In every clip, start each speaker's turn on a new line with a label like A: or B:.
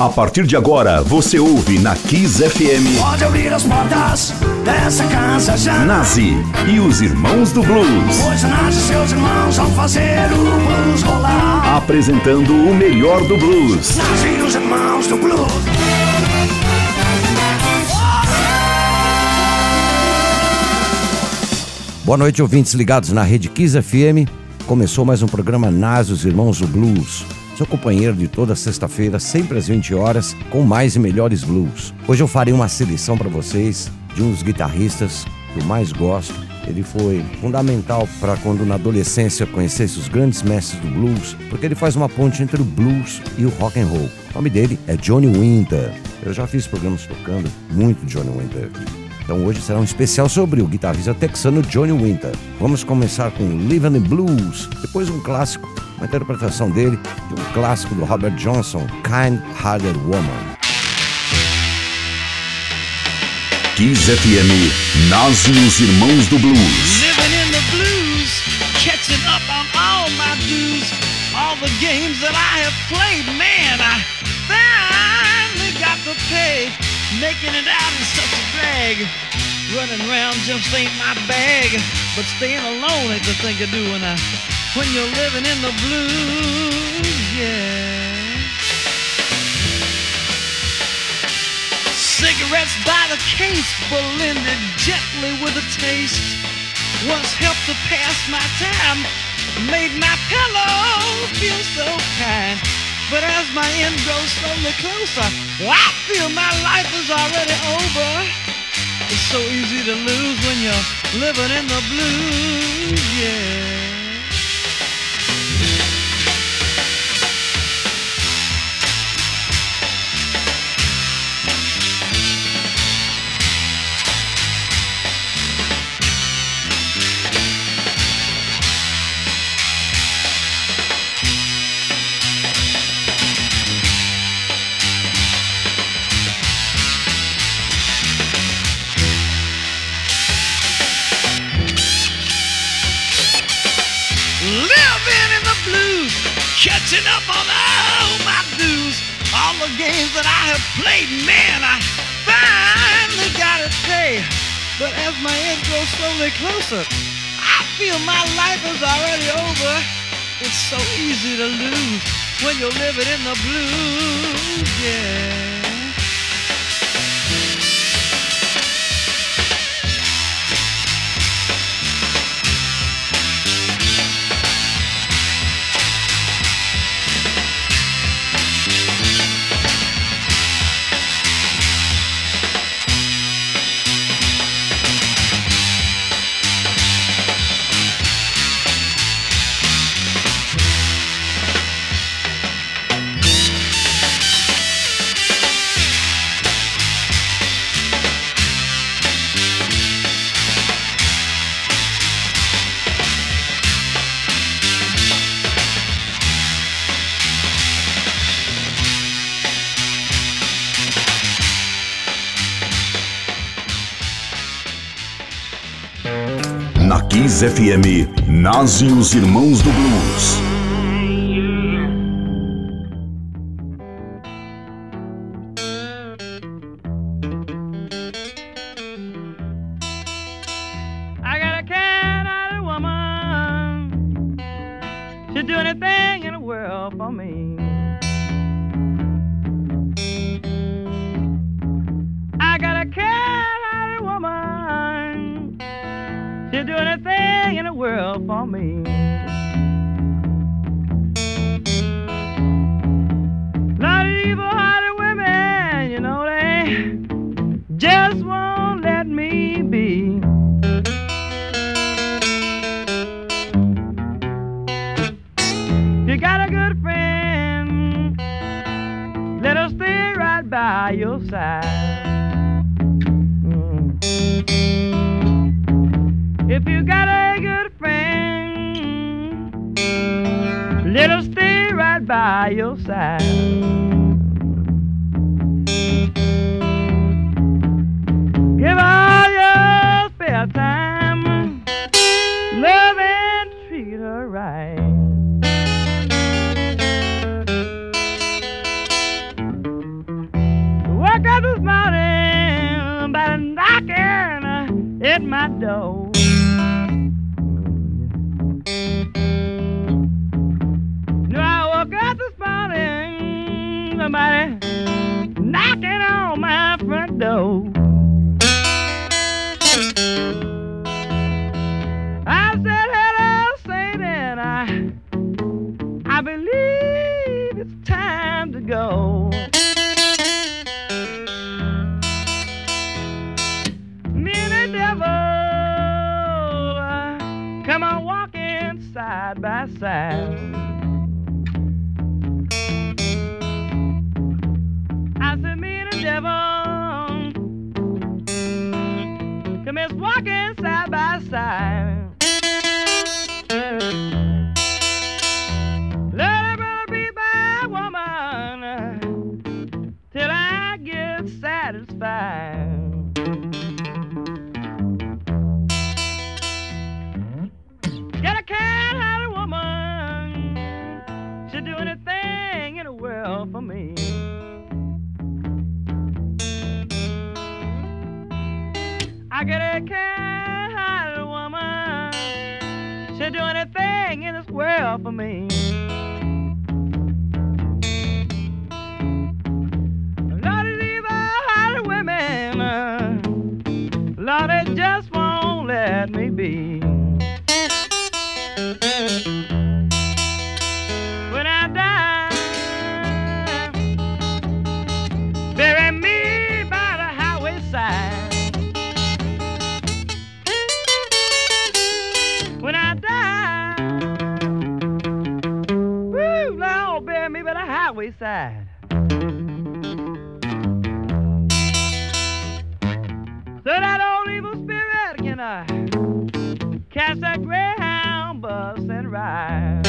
A: A partir de agora, você ouve na Kiss FM.
B: Pode abrir as portas dessa casa já.
A: Nazi e os Irmãos do Blues.
B: Pois Nazi e seus irmãos vão fazer o blues rolar.
A: Apresentando o melhor do blues.
B: Nazi e os Irmãos do Blues.
C: Boa noite, ouvintes ligados na Rede Kiss FM. Começou mais um programa Nazi e os Irmãos do Blues. Seu companheiro de toda sexta-feira, sempre às 20 horas, com mais e melhores blues. Hoje eu farei uma seleção para vocês de um dos guitarristas que eu mais gosto. Ele foi fundamental para quando na adolescência eu conhecesse os grandes mestres do blues, porque ele faz uma ponte entre o blues e o rock and roll. O nome dele é Johnny Winter. Eu já fiz programas tocando muito Johnny Winter aqui. Então hoje será um especial sobre o guitarrista texano Johnny Winter. Vamos começar com Livin' in Blues, depois um clássico, uma interpretação dele de um clássico do Robert Johnson, Kind-Hearted Woman.
A: Kiss FM, Nazi e os Irmãos do Blues.
D: Living in the blues, catching up on all my dues, all the games that I have played, man, I finally got to pay. Making it out is such a drag. Running around just ain't my bag. But staying alone ain't the thing to do when you're living in the blues, yeah. Cigarettes by the case, blended gently with a taste. Once helped to pass my time, made my pillow feel so kind. But as my end grows slowly closer, I feel my life is already over. It's so easy to lose when you're living in the blues, yeah. Catching up on all my dues, all the games that I have played, man, I finally got it paid. But as my end grows slowly closer, I feel my life is already over. It's so easy to lose when you're living in the blues, yeah.
A: Na Kiss FM, Nazi e os Irmãos do Blues.
D: I got a kind-hearted woman. She'd do anything in the world for me. I got a kind-hearted woman. She'd do anything in the world for me. Not evil-hearted women, you know, they just won't let me be. You got a good friend, let her stay right by your side. If you got a good friend, let her stay right by your side. Give all your spare time, love and treat her right. my door. No, I woke up this morning, somebody knocking on my front door. I said, hello, Satan, I believe it's time to go. Me and the devil, come on walking side by side. I said, me and the devil, come on walking side by side. Let it be my woman till I get satisfied. Get a kind-hearted woman, she'll do anything in the world for me. I get a kind-hearted woman, she'll do anything in this world for me. Lord, these evil-hearted women, Lord, they just won't let me be. When I die, bury me by the highway side. When I die, woo, Lord, bury me by the highway side. So that old evil spirit can catch that Greyhound bus and ride.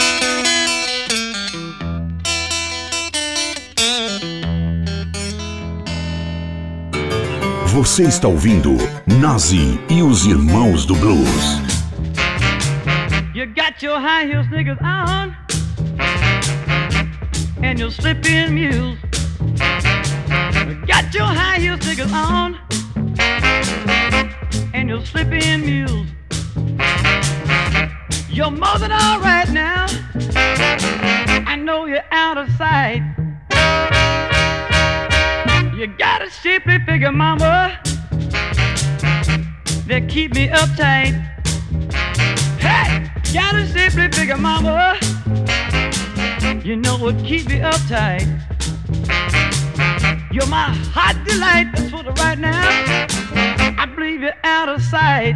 A: Você está ouvindo Nazi e os Irmãos do Blues.
D: You got your high heel sneakers on and your slip-in mules. You got your high heel sneakers on and your slip-in mules. You're more than all right now. I know you're out of sight. You got a shapely figure, mama, that keep me uptight. Hey, got a shapely figure, mama, you know what keep me uptight. You're my hot delight, that's what right now I believe you're out of sight.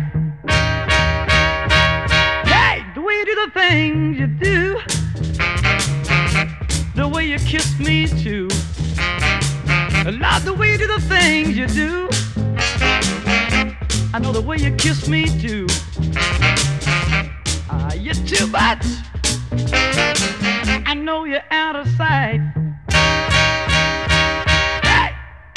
D: Hey, the way you do the things you do, the way you kiss me too, I love the way you do the things you do. I know the way you kiss me too. You're too much. I know you're out of sight. Hey!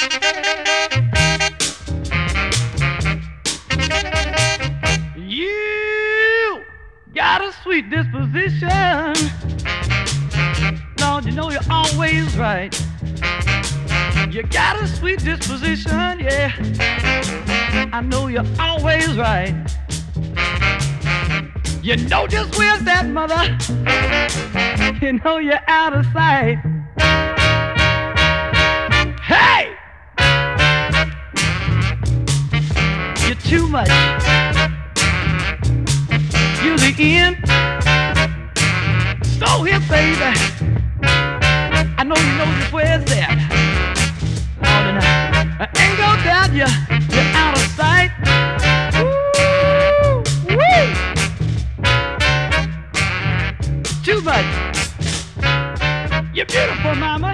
D: You got a sweet disposition. Lord, you know you're always right. You got a sweet disposition, yeah. I know you're always right. You know just where's that, mother. You know you're out of sight. Hey! You're too much. You're the end. So here, baby, I know you know just where's that. I ain't gonna doubt you're out of sight. Woo-wee. Too much. You're beautiful, mama.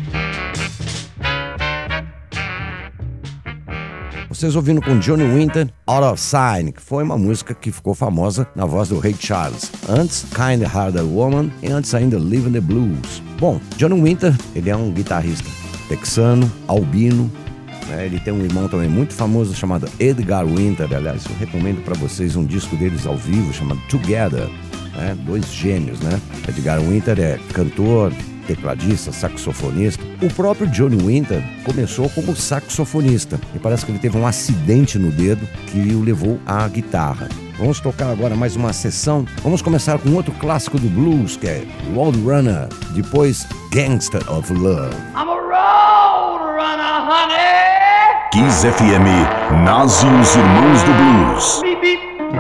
C: Vocês ouvindo com Johnny Winter, Out of Sign, que foi uma música que ficou famosa na voz do Ray Charles. Antes, Kind Hearted Woman e antes ainda Living the Blues. Bom, Johnny Winter, ele é um guitarrista texano, albino, né? Ele tem um irmão também muito famoso chamado Edgar Winter. Aliás, eu recomendo para vocês um disco deles ao vivo chamado Together, né? Dois gênios, né? Edgar Winter é cantor, tecladista, saxofonista. O próprio Johnny Winter começou como saxofonista e parece que ele teve um acidente no dedo que o levou à guitarra. Vamos tocar agora mais uma sessão. Vamos começar com outro clássico do blues, que é Roadrunner, depois Gangster of Love.
D: I'm a roadrunner, honey.
A: Kiss FM, nasce os Irmãos do Blues.
D: Beep, beep.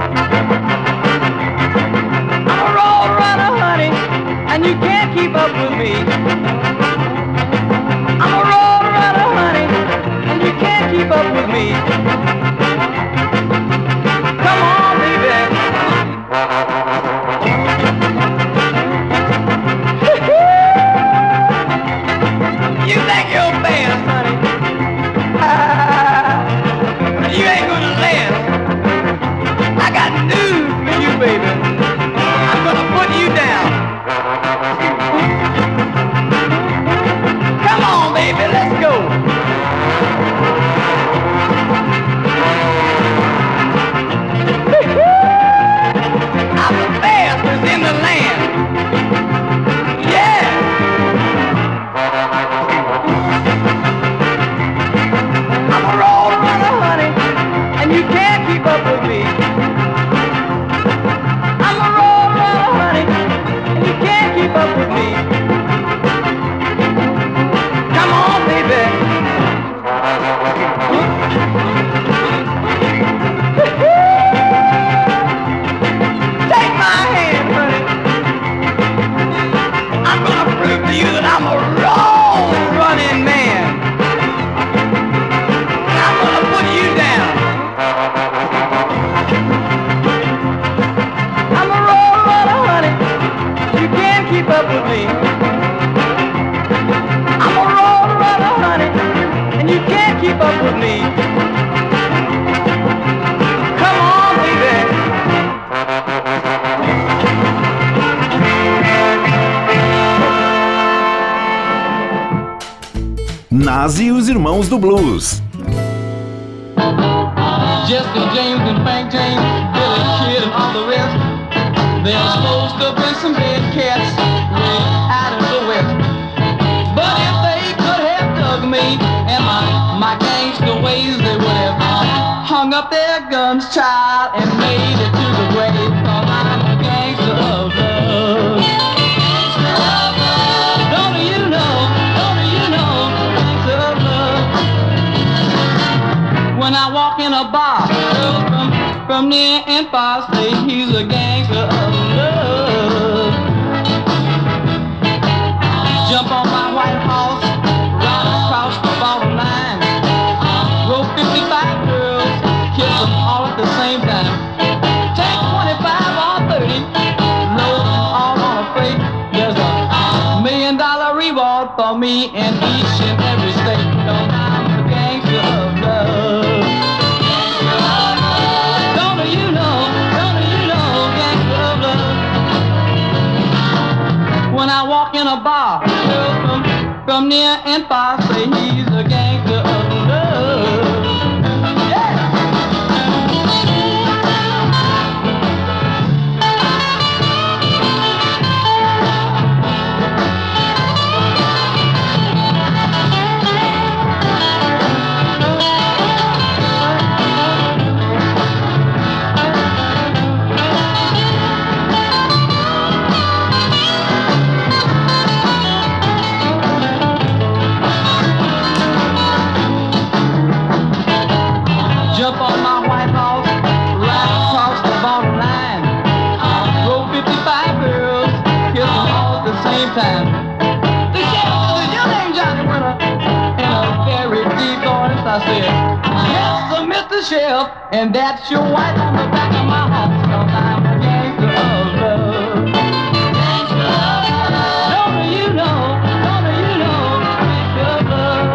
D: I'm a roadrunner, honey, and you can't keep up with me. I'm a roadrunner, honey, and you can't keep up with me. Come on, baby. You think you're fast, honey? You ain't gonna last. I got news for you, baby. I'm gonna put you down. Come on, baby, let's go. I'm the fastest in the land. Yeah. I'm a roadrunner, honey, and you can't keep up with me. I'm a roadrunner, honey, and you can't keep up with me. Come on, baby. Take my hand, honey. I'm gonna prove to you that I'm a road-running man. And I'm gonna put you down. I'm a road-runner, honey. You can't keep up with me. I'm a road-runner, honey, and you can't keep up with me. Come on, baby.
A: Nasce os Irmãos do Blues.
E: Jesse James and Frank James, Billy Kid and all the rest. They're supposed to be some dead cats way out in the west. But if they could have dug me and my gangster ways, they would have hung up their guns, child, and made it to the grave. 'Cause I'm a gangster of love. Gangster of love. Don't you know, gangster of love. When I walk in a bar, girls from near and far say he's a gangster of love. Jump on my white horse, ride across the bottom line. Roll 55 girls, kiss them all at the same time. Take 25 or 30, load them all on a freight. There's $1 million reward for me in each and every state. 'Cause I'm a gangster of love. Don't you know, gangster of love. When I walk in a bar, girls from near and far say he's a gangster of love. Yeah. Jump on my white horse, ride across the bottom line. Roll 55 girls, kiss them all at the same time. The sheriff said, "Your name Johnny Winter," in a very deep voice I said, "Yes, sir, Mr. Sheriff, and that's your wife on the back of my horse, 'cause I'm a gangster of love." Gangster of love. Don't you know, gangster of love.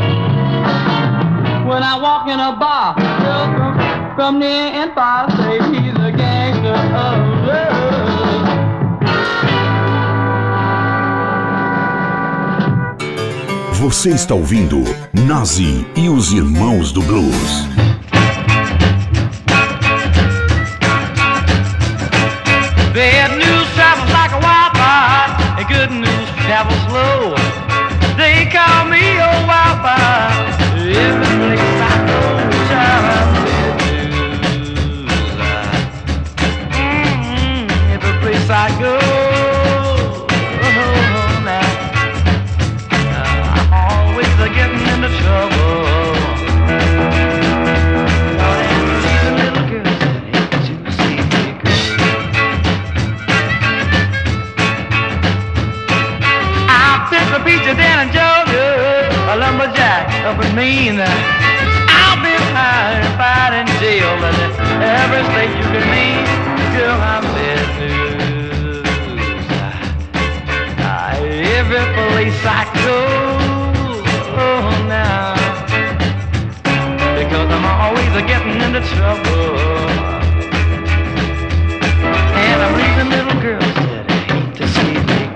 E: When I walk in a bar, girls from near and far say he's a gangster of love.
A: Você está ouvindo Nazi e os Irmãos do Blues.
D: Bad news travels like a wildfire, and good news
E: travel slow. They call me old wild wild. Every place I go, child, I'm bad news. Every place I go, now I'm always getting into trouble. Down in Georgia, a lumberjack up in Maine. I've been high and fight in jail in every state you can name. Girl, I'm bad news. Every place I go now, because I'm always getting into trouble. And I'm leaving little girls that hate to see me.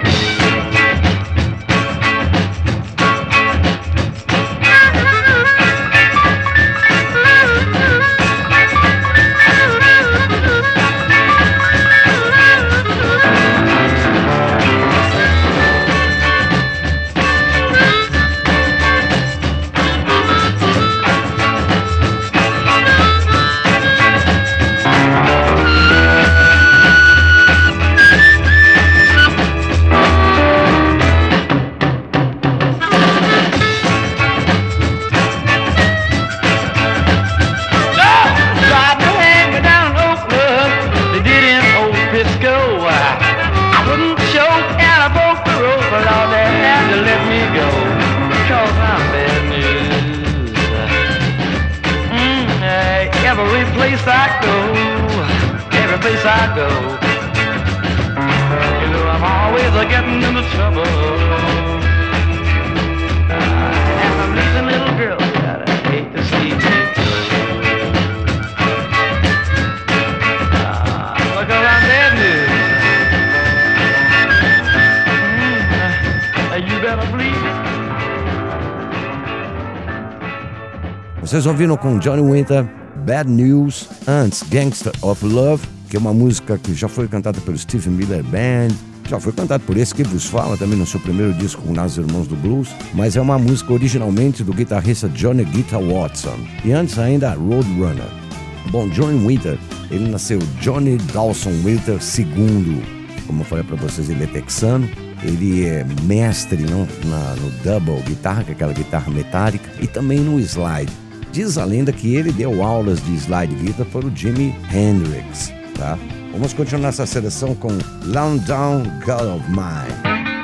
C: Vocês ouviram com Johnny Winter, Bad News, antes Gangster of Love, que é uma música que já foi cantada pelo Steve Miller Band, já foi cantada por esse que vos fala também no seu primeiro disco com Os Irmãos do Blues, mas é uma música originalmente do guitarrista Johnny Guitar Watson, e antes ainda Roadrunner. Bom, Johnny Winter, ele nasceu Johnny Dawson Winter II, como eu falei para vocês, ele é texano. Ele é mestre no double guitarra, que é aquela guitarra metálica, e também no slide. Diz a lenda que ele deu aulas de slide guitar para o Jimi Hendrix, tá? Vamos continuar essa seleção com Long Down Girl of Mine.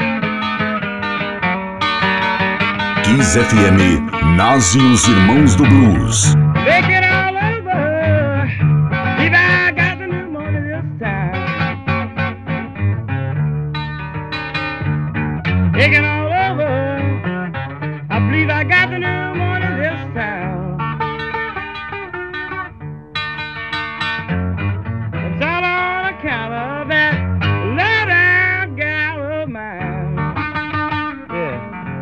A: Kiss FM, Nas e os Irmãos do Blues.
E: Take it all over, if I got the new money this time. Take it all over, I believe I got the new money this time. It's all on account of that low-down gal of mine. Yeah.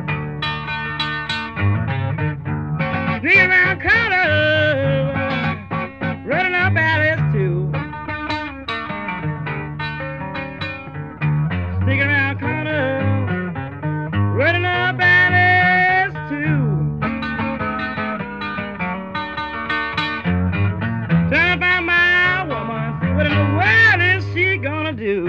E: Sneaking around corners, running up alleys too. Sneaking around corners, running up alleys too. Trying to find my woman, see what in the world is she gonna do?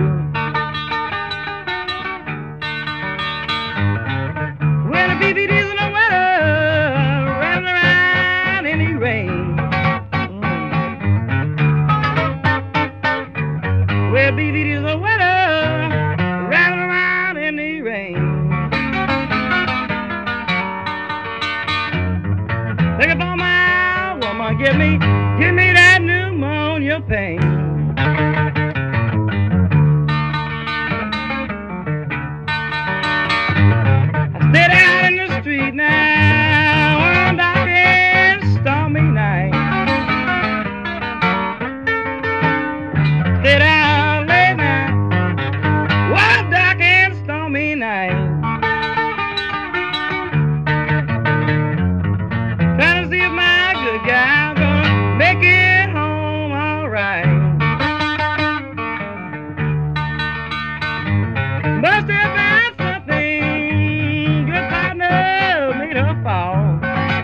E: When the BBD's in the weather, running around in the rain. Well, BBD's in the weather, running around in the rain. Think about my woman, give me that pneumonia pain. I stayed out in the street now on dark and stormy night. Stayed out late night, one dark and stormy night. Trying to see if my good guy gonna make it home all right. fall.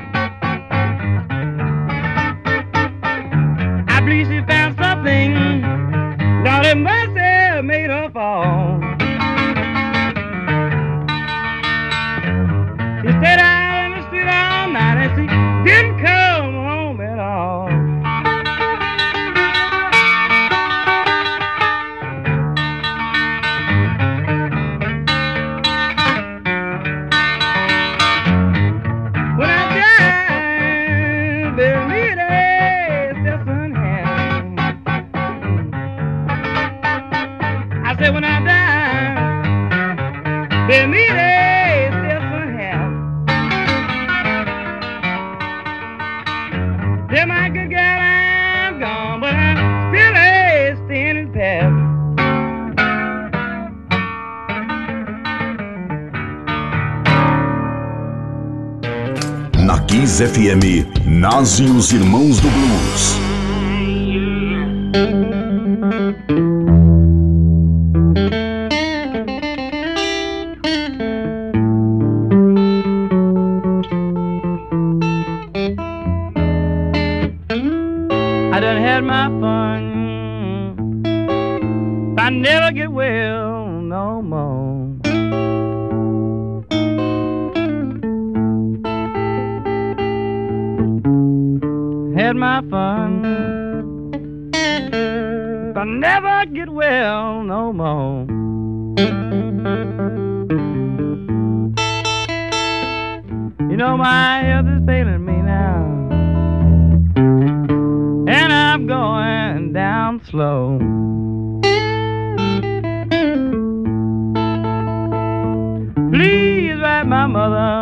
E: I believe she found something, Lord have mercy, made her fall. She stayed out in the street all night and she didn't come home at all. When I die, bury me there, Stephen Ham. I said when I die, bury me there, Stephen Ham. Tell my good girl I'm gone, but I'm still a standing pat.
A: Na Kiss FM, Nas e os Irmãos do Blues.
E: I done had my fun, but I never get well no more. Had my fun, but I never get well no more. You know my health is failing me now, and I'm going down slow. Please write my mother,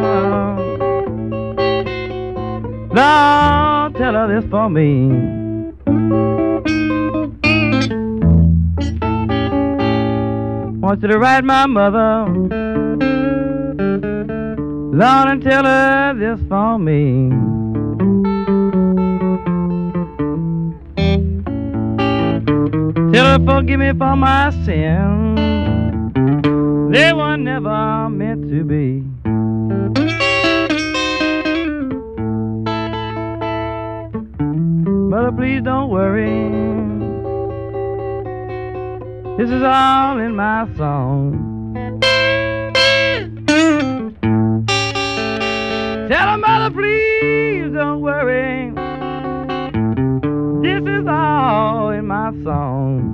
E: Lord, tell her this for me. Want you to write my mother, Lord, and tell her this for me. Tell her forgive me for my sins, they were never meant to be. Mother, please don't worry, this is all in my song. Tell her, mother, please don't worry, this is all in my song.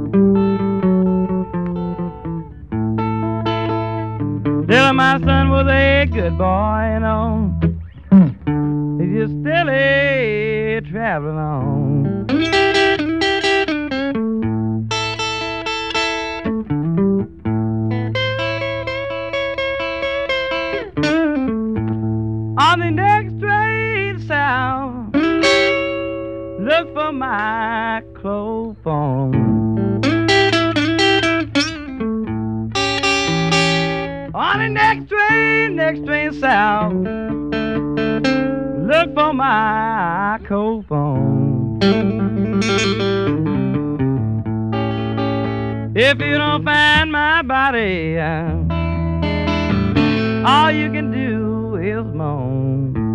E: Tell her my son was a good boy, you know, he's just still a traveling on. On the next train south, look for my clophone. On the next train south, look for my clophone. If you don't find my body, all you can do is moan.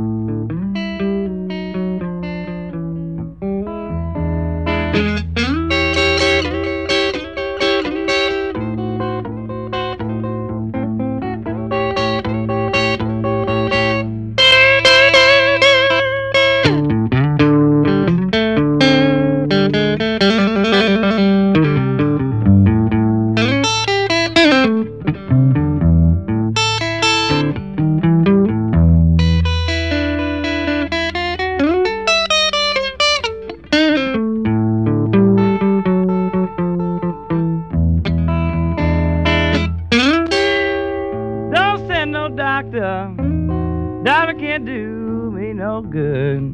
E: Doctor can't do me no good.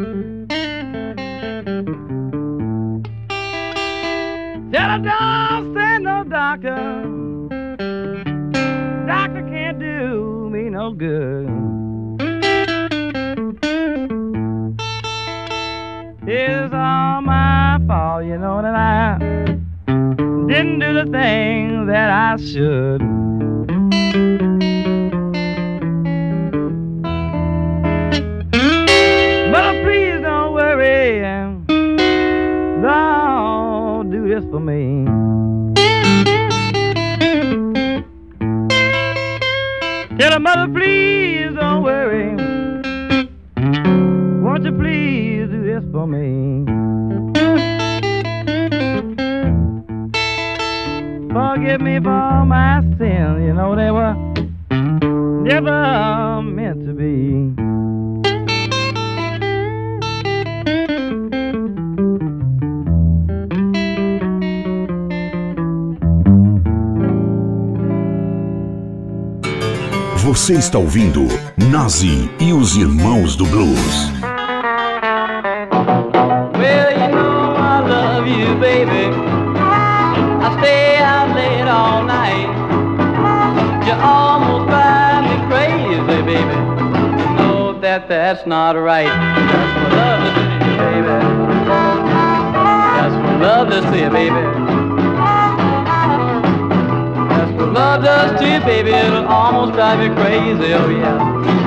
E: Tell her don't send no doctor. Doctor can't do me no good. It's all my fault, you know, that I didn't do the thing that I should.
D: please don't worry. Won't you please do this for me? Forgive me for my sins, you know they were never meant to be.
A: Você está ouvindo Nazi e os Irmãos do Blues.
E: Well, you know I love you, baby. I stay out late all night. You almost drive me crazy, baby. You know that that's not right. That's what love is to you, baby. That's what love does to you, baby. That's what love does to you, baby. It'll almost drive you crazy, oh yeah.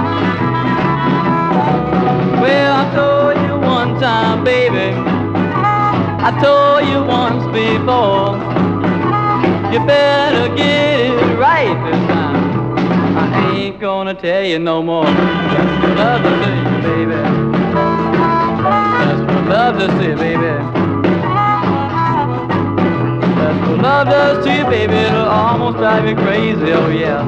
E: Well, I told you one time, baby. I told you once before. You better get it right this time. I ain't gonna tell you no more. That's what love does to you, baby. That's what love does to you, baby. That's what love does to you, baby. It'll almost drive you crazy, oh yeah.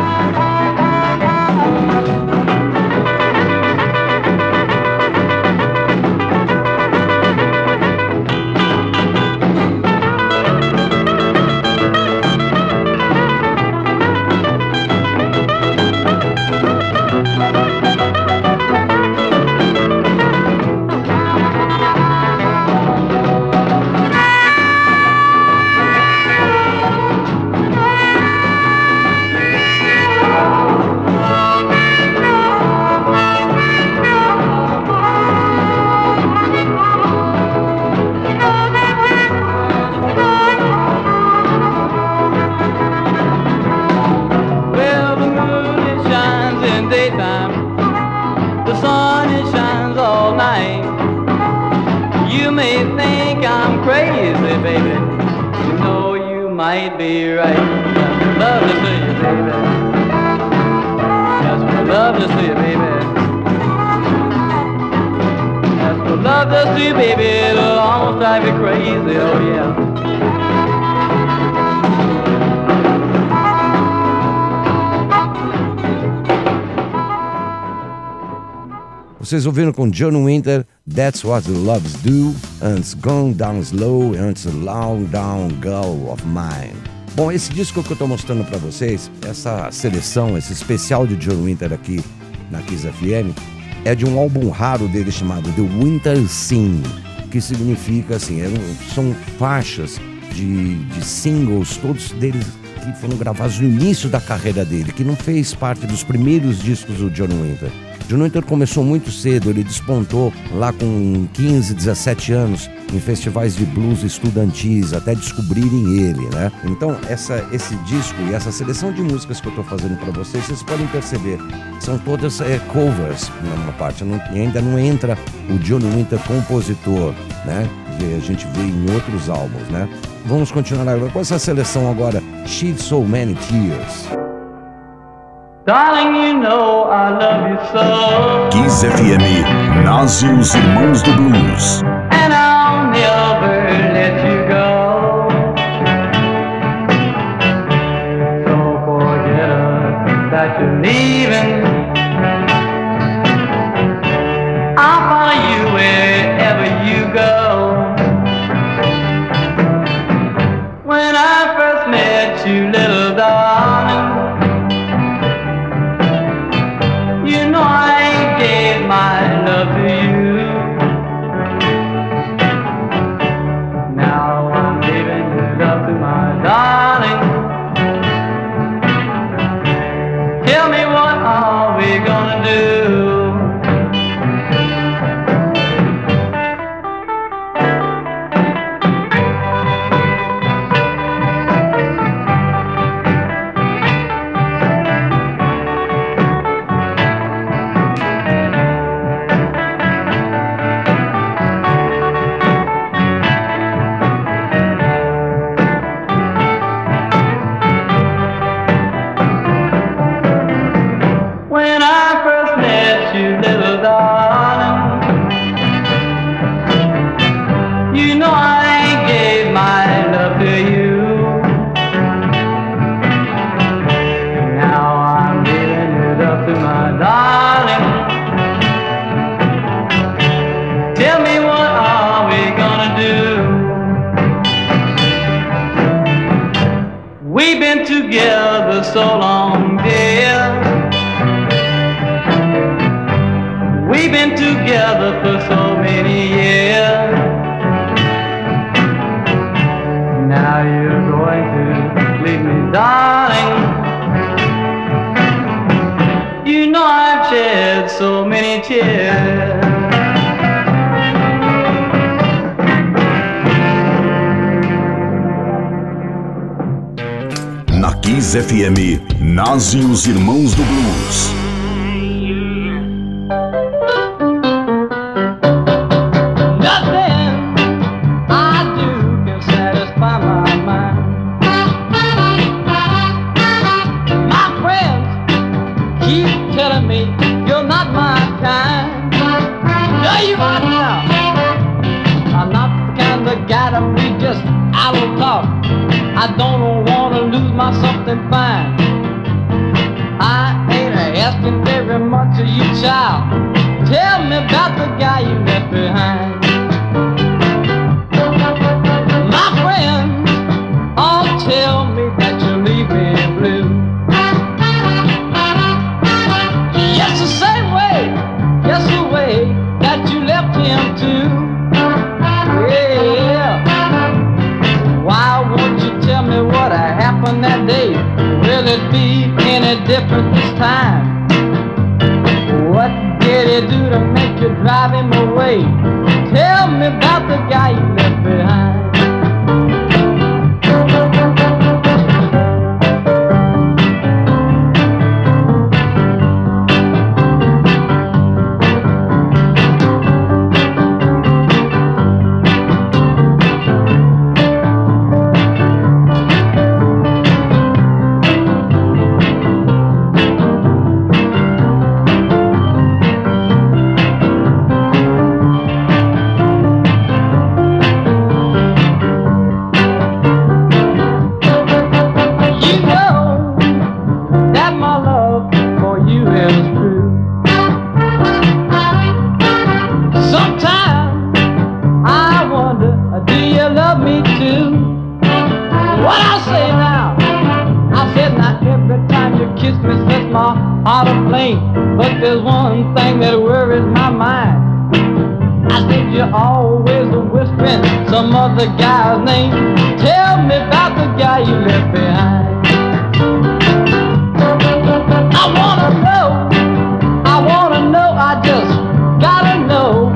C: Vocês ouviram com John Winter, That's What the Loves Do, antes Gone Down Slow, antes Long Down Girl of Mine. Bom, esse disco que eu estou mostrando para vocês, essa seleção, esse especial de John Winter aqui na Kiss FM, é de um álbum raro dele chamado The Winter Scene, que significa assim, são faixas de singles, todos deles que foram gravados no início da carreira dele, que não fez parte dos primeiros discos do John Winter. John Winter começou muito cedo, ele despontou lá com 15, 17 anos em festivais de blues estudantis, até descobrirem ele, né? Então, esse disco e essa seleção de músicas que eu estou fazendo para vocês podem perceber, são todas covers numa parte, ainda não entra o John Winter compositor, né? Que a gente vê em outros álbuns, né? Vamos continuar agora com essa seleção agora, Shed So Many Tears.
E: Darling, you know I love you so.
A: Kiss FM, Nazi e os Irmãos do Blues.
E: And I'll never let you go. So forget that you're leaving. I'll follow you wherever you go. When I first met you, little darling, you know I gave my love to you. Now I'm giving it up to my darling. Tell me, what are we gonna do? When I been together for so many years. Now you're going to leave me, darling. You know I've shed so many tears.
A: Na Kiss FM, nasce os Irmãos do Blues.
E: I don't want to lose my something fine. I ain't asking very much of you, child. Tell me about the guy you left behind. My friends all tell me that you leave me blue. Yes, the same way, yes, the way that you left him too. Yeah. Why won't you tell me what happened that day? Will it be any different this time? What did he do to make you drive him away? Tell me about the guy you left behind. But there's one thing that worries my mind. I think you're always whispering some other guy's name. Tell me about the guy you left behind. I wanna know, I just gotta know.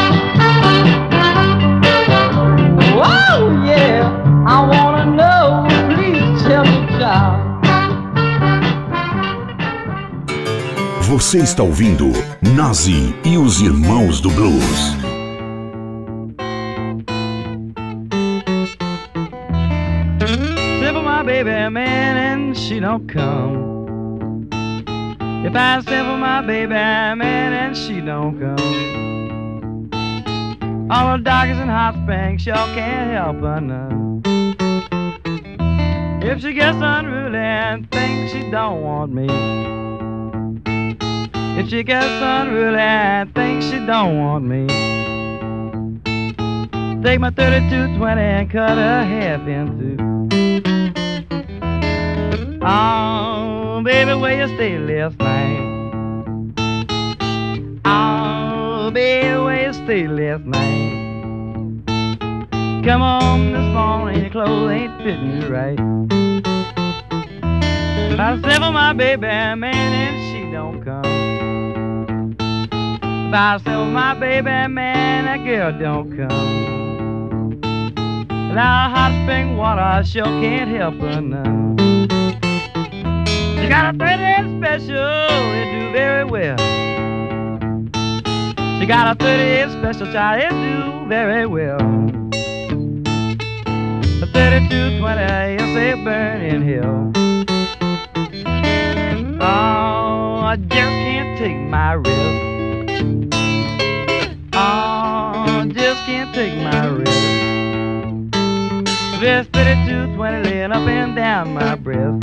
E: Oh yeah, I wanna know, please tell me, child.
A: Você está ouvindo Nazi e os Irmãos do Blues.
D: Send for my baby, man, and she don't come. If I send for my baby, man, and she don't come. All the doctors in Hot Springs sure can't help her none. If she gets unruly and thinks she don't want me. If she gets unruly and thinks she don't want me, take my 32-20 and cut her half in two. Oh, baby, where you stay last night? Oh, baby, where you stay last night? Come home this morning, your clothes ain't fitting you right. I said for my baby, man, and she don't come. If I sell my baby, man, that girl don't come. Now hot spring water sure can't help her none. She got a 38 special, it do very well. She got a 38 special, child, it do very well. A 32-20, you say burn in hell. Oh, I just can't take my risk. Oh, just can't take my risk. This 32-20 laying up and down my breast.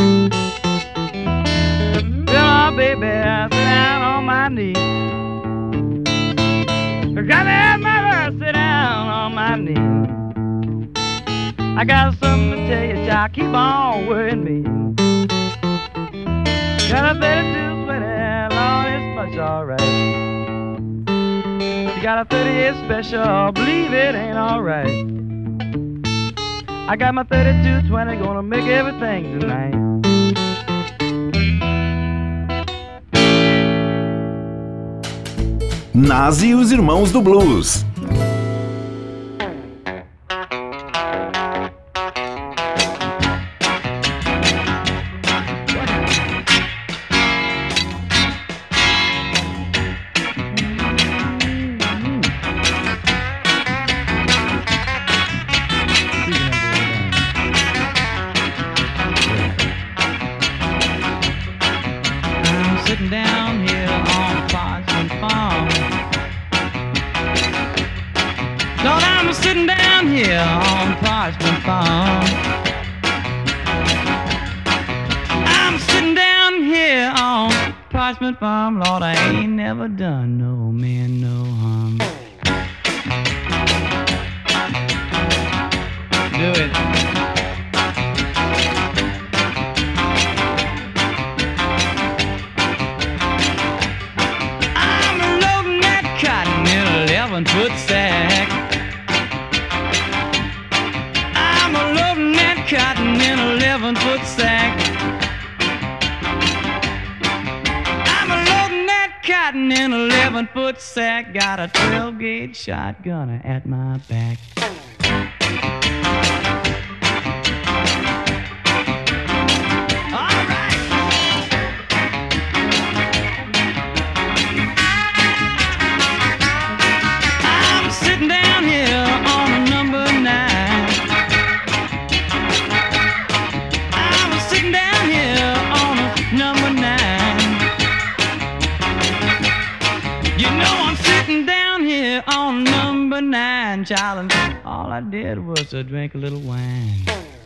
D: Well, baby, I sit down on my knees. Got to have my heart sit down on my knees. I got something to tell you, child, keep on worrying me. Got a 32-20, Lord, it's much alright. She got a 38 special, believe it ain't alright. I got my 3220, gonna make everything tonight.
A: Nas e os Irmãos do Blues.
D: Farm, Lord, I ain't never done no man no harm. Do it. I'm loading that cotton in an 11-foot sack. I'm loading that cotton in an 11-foot sack. In an 11-foot sack, got a 12-gauge shotgun at my back. All right. I'm sitting down here on a number 9. I'm sitting down here on a number 9. You know I'm sitting down here on number 9, child, and all I did was to drink a little wine.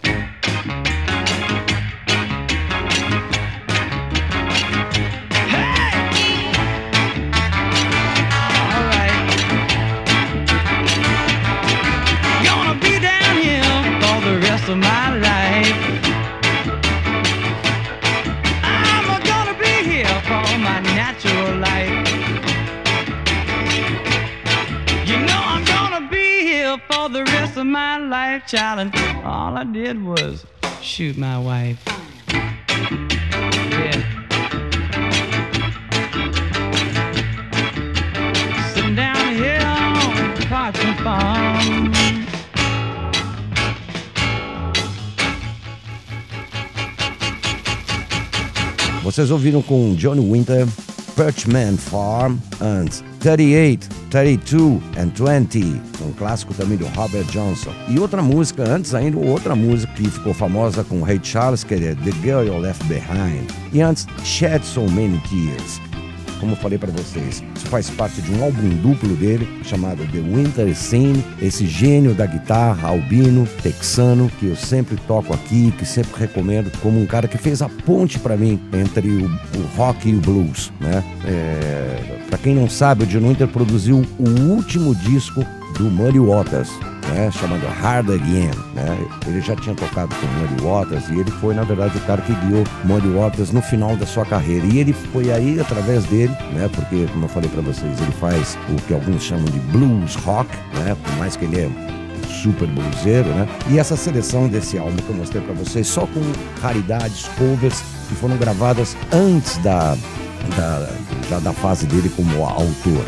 D: Hey! All right. Gonna be down here for the rest of my life. I'm gonna be here for my natural life. For the rest of my life, child, and all I did was shoot my wife. Yeah. Sitting down here on Parchment Farm.
C: Vocês ouviram com Johnny Winter, Parchment Farm, antes 38, 32 and 20, um clássico também do Robert Johnson. E outra música, antes ainda, outra música que ficou famosa com o Ray Charles, que é The Girl You Left Behind. E antes, Shed So Many Tears. Como eu falei para vocês, isso faz parte de um álbum duplo dele, chamado The Winter Scene, esse gênio da guitarra, albino, texano, que eu sempre toco aqui, que sempre recomendo como um cara que fez a ponte para mim entre o rock e o blues, né? Para quem não sabe, o John Winter produziu o último disco do Muddy Waters, né, chamado Hard Again, né? Ele já tinha tocado com o Muddy Waters e ele foi, na verdade, o cara que guiou Muddy Waters no final da sua carreira. E ele foi aí através dele, né? Porque, como eu falei pra vocês, ele faz o que alguns chamam de blues rock, né? Por mais que ele é super bluseiro, né? E essa seleção desse álbum que eu mostrei pra vocês, só com raridades, covers que foram gravadas antes da fase dele como autor.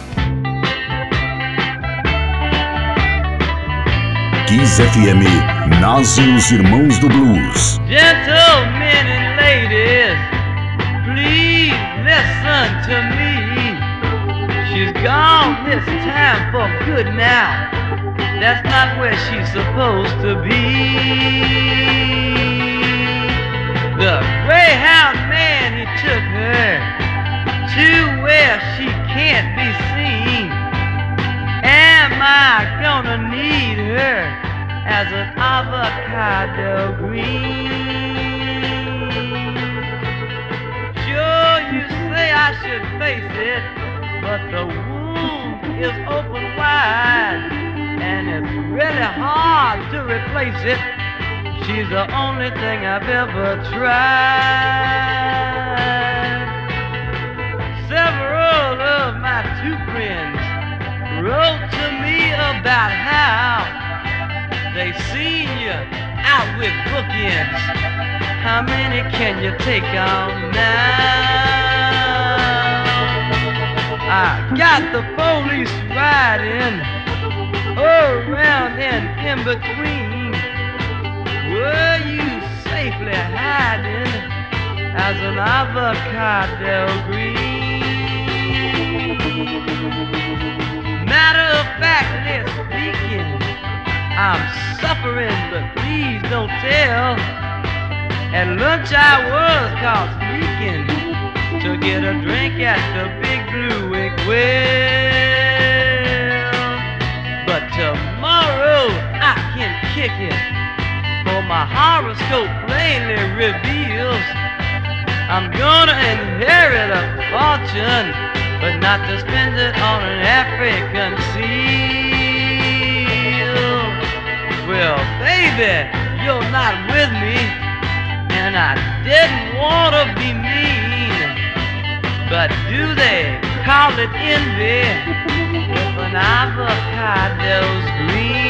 A: Kiss FM, Nas e os Irmãos do Blues.
D: Gentlemen and ladies, please listen to me. She's gone this time for good now. That's not where she's supposed to be. The Greyhound man, he took her to where she can't be seen. Am I gonna need her as an avocado green? Sure, you say I should face it, but the wound is open wide, and it's really hard to replace it. She's the only thing I've ever tried. Several of my two friends wrote begins. How many can you take on now? I got the police riding around and in between. Were you safely hiding as an avocado green? Matter of factly speaking, I'm suffering, but please don't tell. At lunch I was caught sneaking to get a drink at the Big Blue Well. But tomorrow I can kick it, for my horoscope plainly reveals I'm gonna inherit a fortune, but not to spend it on an African seal. Well, baby, you're not with me, and I didn't want to be mean, but do they call it envy if an avocado's green?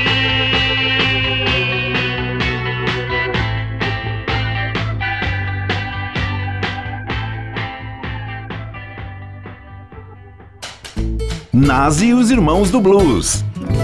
A: Nas e os Irmãos do Blues.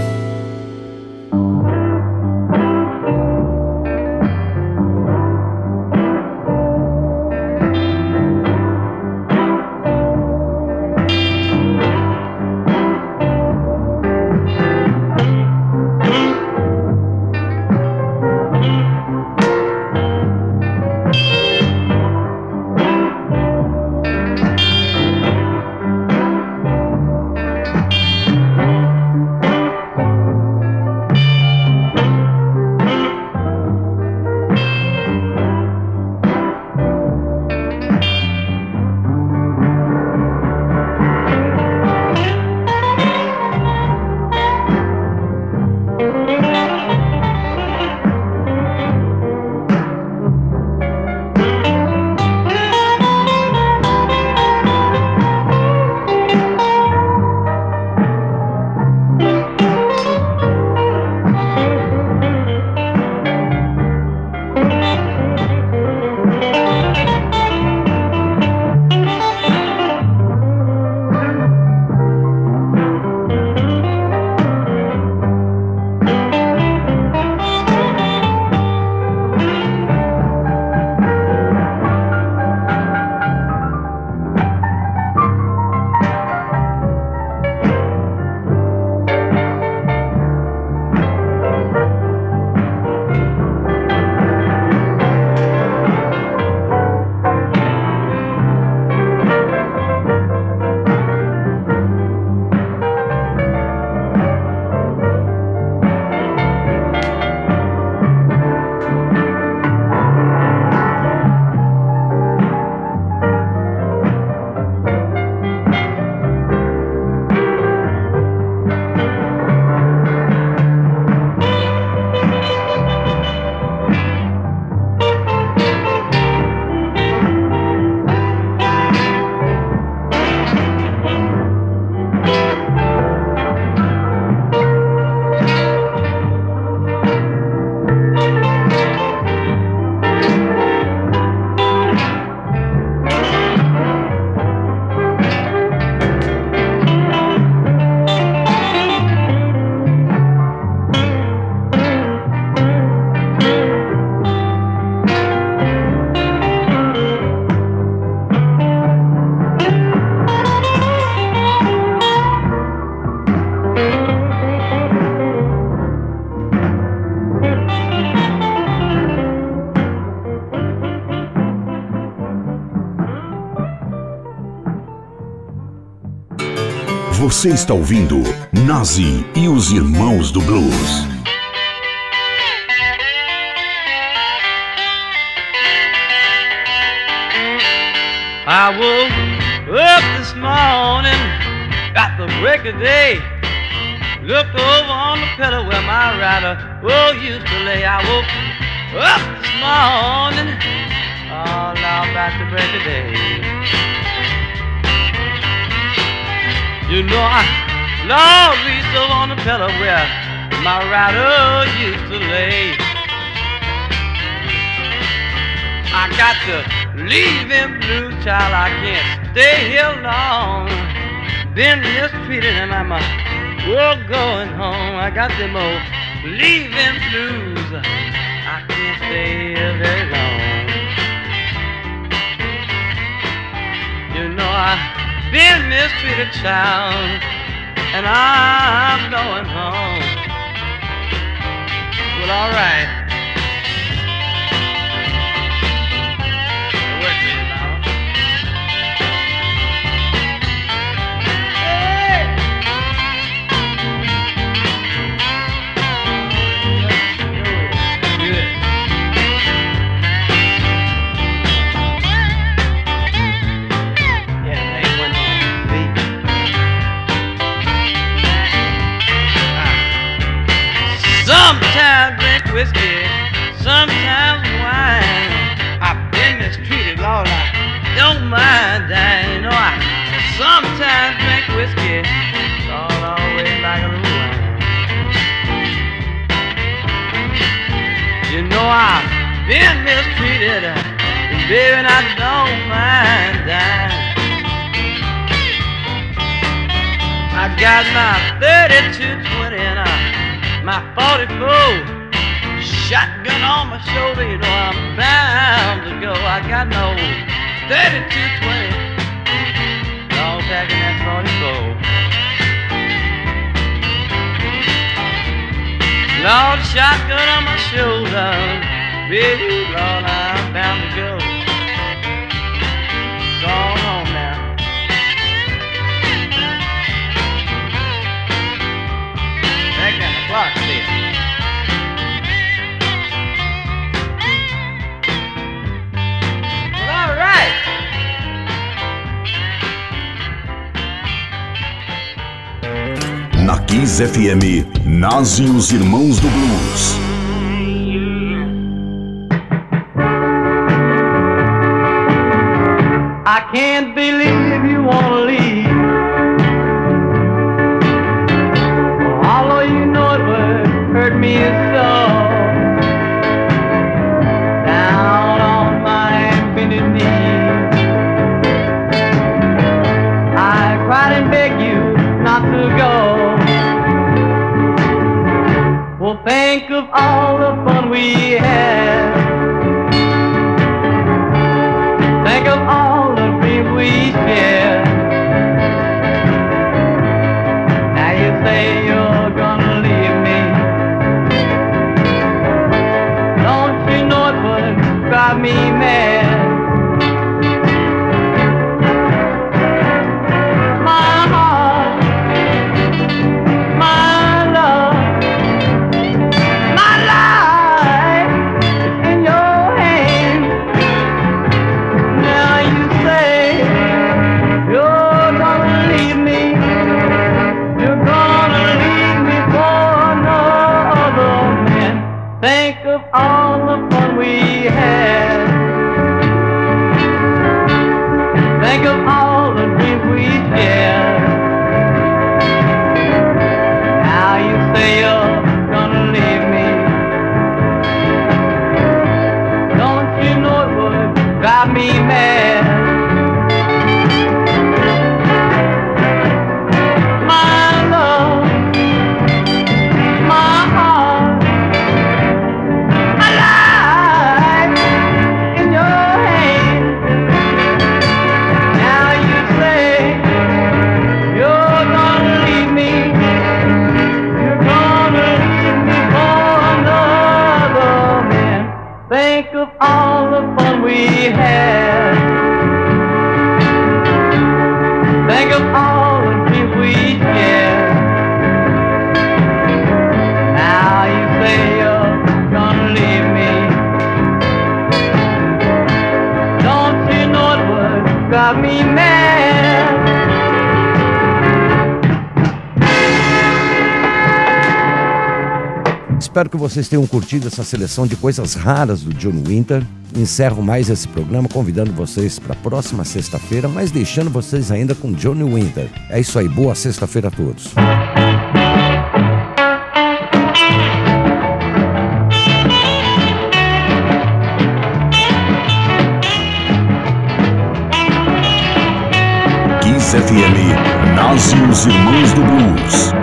A: Você está ouvindo Nazi e os Irmãos do Blues.
D: I woke up this morning at the break of day. Looked over on the pillow where my rider used to lay. I woke up this morning all out at the break of day. You know I Lord reached over on the pillow where my rider used to lay. I got to leave him blue, child. I can't stay here long. Been mistreated and I'm going home. I got them old leaving blues. I can't stay here very long. You know I've been mistreated, child, and I'm going home. Well, all right. Work with it now. Hey! Good. Yeah, they went on beat. Sometimes drink whiskey, sometimes wine. I've been mistreated, Lord, I don't mind dying. You know, I sometimes drink whiskey, it's all always like a little wine. You know, I've been mistreated, and baby, I don't mind dying. I got my 32-20 and my 44 shotgun on my shoulder, you know I'm bound to go. I got no 32-20, all packing that 44. Lord, shotgun on my shoulder, baby, Lord, I'm bound to go. Go on home now. Back down the clock still.
A: Na Kiss FM, nasce os Irmãos do Blues.
E: I can't believe you wanna leave. Although you know it would hurt me so. Down on my bended knees, I cried and begged you not to go. Well, think of all the fun we had. Think of all the dreams we shared. Now you say you're gonna leave me. Don't you know it would drive me mad? My heart, my love, my life is in your hands. Now you say you're gonna leave me. You're gonna leave me for another man. Think of all the fun we had. Think of all the dreams we shared. Now you say you're gonna leave me. Don't you know it would drive me mad? My love, my heart, my life in your hands. Now you say you're gonna leave me. You're gonna leave me for another man. Think of all the fun we had. Think of all the dreams we shared. Now you say you're gonna leave me. Don't you know it would drive me mad?
C: Espero que vocês tenham curtido essa seleção de coisas raras do John Winter. Encerro mais esse programa convidando vocês para a próxima sexta-feira, mas deixando vocês ainda com John Winter. É isso aí, boa sexta-feira a todos.
A: Kiss FM, Nazi e os Irmãos do Blues.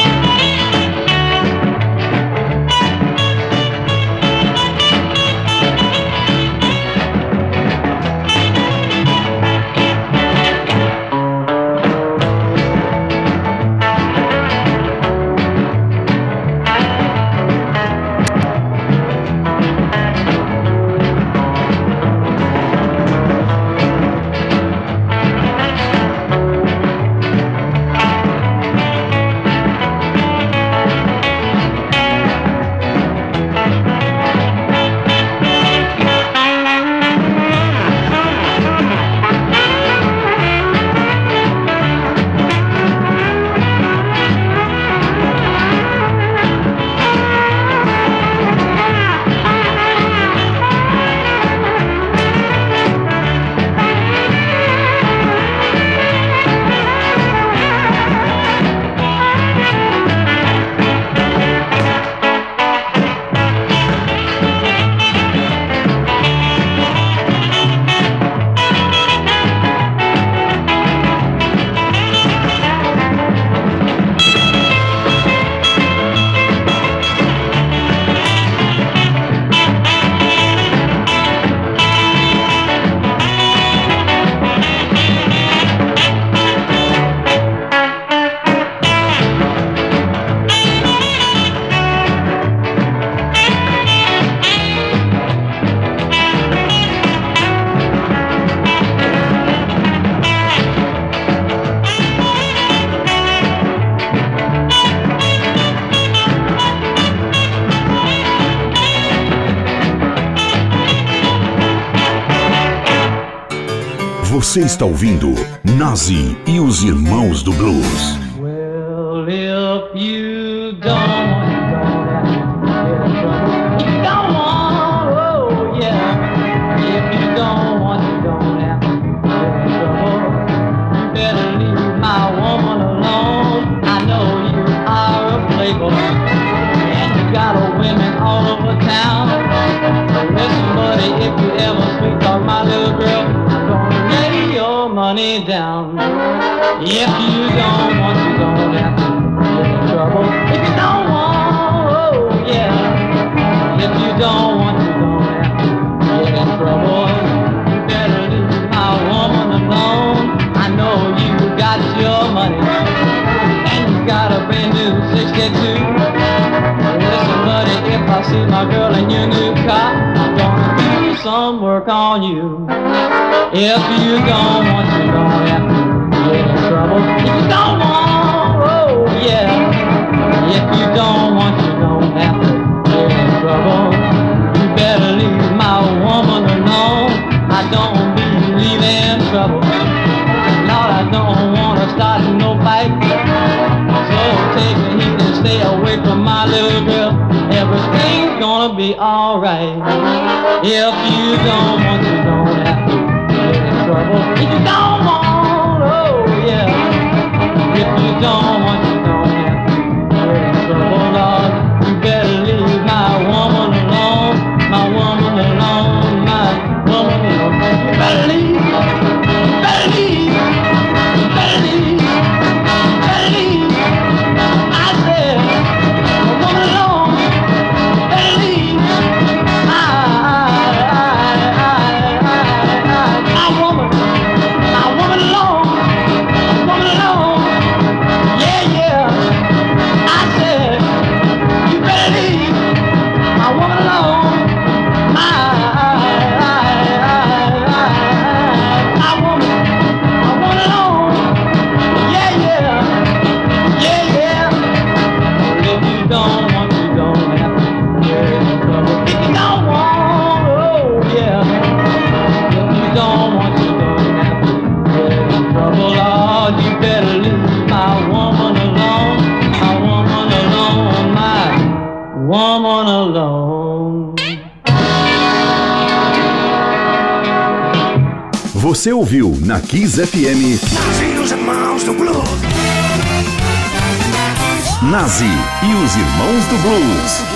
A: Você está ouvindo Nazi e os Irmãos do Blues.
E: Well, if you don't want, you don't want, oh yeah. If you don't want, you don't have to get in trouble. You better leave my woman alone. I know you are a playboy, and you got a women all over town. Listen, buddy, if you ever sweet talk my little girl, I'm gonna lay your money down. If you don't want, you don't have to get in trouble. If you don't want, oh yeah. If you don't want, you don't have to get in trouble. You better leave my woman alone. I know you got your money, and you got a brand new 62. Listen, buddy, if I see my girl in your new car, I'm gonna do some work on you. If you don't want, you don't have to get in trouble. If you don't want, oh yeah. If you don't want, you don't have to get in trouble. You better leave my woman alone. I don't believe in trouble. Lord, I don't wanna start no fight. So take a heed and stay away from my little girl. Everything's gonna be alright. If you don't want, you don't have to get in trouble. If you don't want, oh yeah. If you don't want, you don't have to get in trouble, Lord. You better leave my woman alone. My woman alone. My woman alone. You better leave. You better leave. You better leave. You better leave. I said, my woman alone. You better leave. My woman alone. My woman alone. Yeah, yeah. I said, you better leave my woman alone. My woman alone. Yeah, yeah. Yeah, yeah. If you don't want, you don't have to get in trouble. If you don't want, oh yeah. If you don't want, you don't have to get in trouble. Lord, you better leave my woman alone. My woman alone. My woman alone.
A: Você ouviu na Kiss FM
B: Nazi e os Irmãos do Blues.
A: Nazi e os Irmãos do Blues.